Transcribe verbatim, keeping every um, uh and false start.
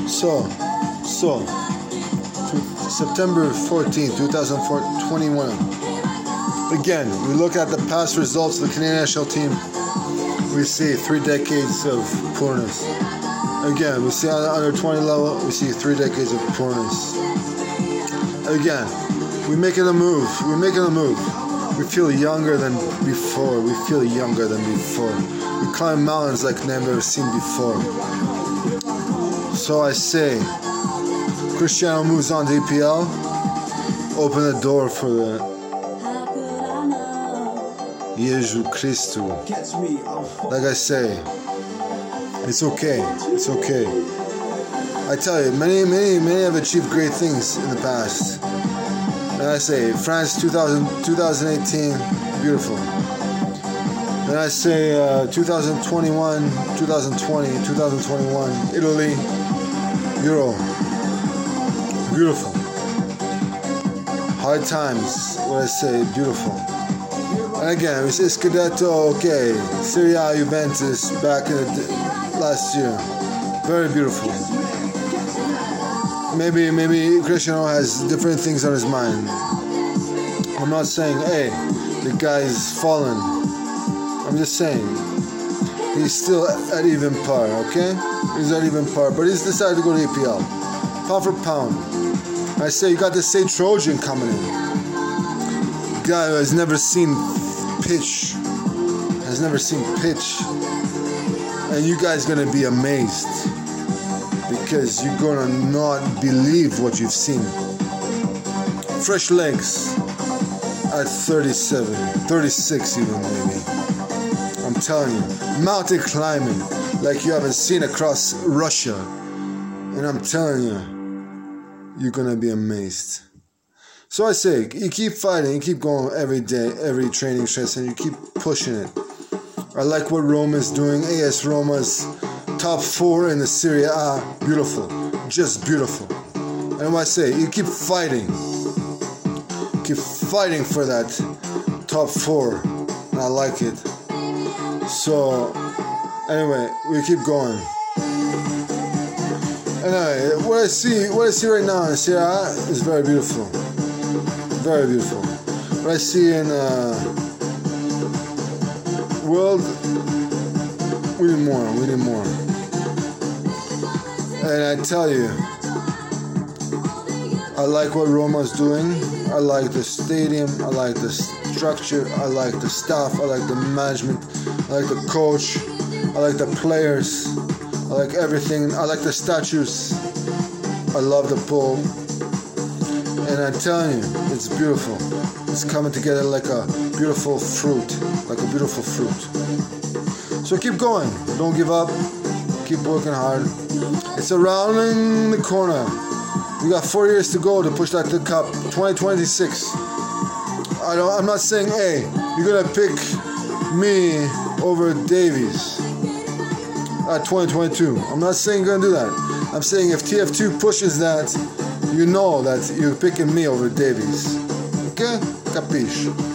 So, so, September fourteenth, twenty twenty-one. Again, we look at the past results of the Canadian national team. We see three decades of poorness. Again, we see on the under twenty level, we see three decades of poorness. Again, we make it a move. We're making a move. We feel younger than before. We feel younger than before. We climb mountains like never seen before. So I say, Cristiano moves on to E P L. Open the door for the Jesus Christo. Like I say, it's okay. It's okay. I tell you, many, many, many have achieved great things in the past. And I say, France two thousand, twenty eighteen, beautiful. Then I say uh, twenty twenty-one, twenty twenty, twenty twenty-one, Italy, Euro, beautiful. Hard times, what I say, beautiful. And again, we say Scudetto, okay, Serie A, Juventus, back in the last year, very beautiful. Maybe, maybe Cristiano has different things on his mind. I'm not saying, hey, the guy's fallen. I'm just saying, he's still at even par, okay? He's at even par, but he's decided to go to E P L. Pound for pound. I say, you got this Say Trojan coming in. Guy who has never seen pitch. Has never seen pitch. And you guys gonna be amazed. Because you're gonna not believe what you've seen. Fresh legs at thirty-seven, thirty-six even maybe. I'm telling you, mountain climbing like you haven't seen across Russia. And I'm telling you, you're gonna be amazed. So I say, you keep fighting, you keep going every day, every training session, you keep pushing it. I like what Roma's doing. A S Roma's top four in the Serie A, beautiful, just beautiful. And what I say, you keep fighting, keep fighting for that top four, and I like it. So, anyway, we keep going. Anyway, what I see, what I see right now in Serie A is very beautiful, very beautiful. What I see in uh, world, we need more, we need more. And I tell you, I like what Roma's doing. I like the stadium. I like the structure. I like the staff. I like the management. I like the coach. I like the players. I like everything. I like the statues. I love the pool. And I'm telling you, it's beautiful. It's coming together like a beautiful fruit. Like a beautiful fruit. So keep going. Don't give up. Keep working hard. It's around in the corner. We got four years to go to push that to the cup. twenty twenty-six. I don't. I'm not saying, hey, you're gonna pick me over Davies at twenty twenty-two. I'm not saying you're gonna do that. I'm saying if T F two pushes that, you know that you're picking me over Davies. Okay? Capiche?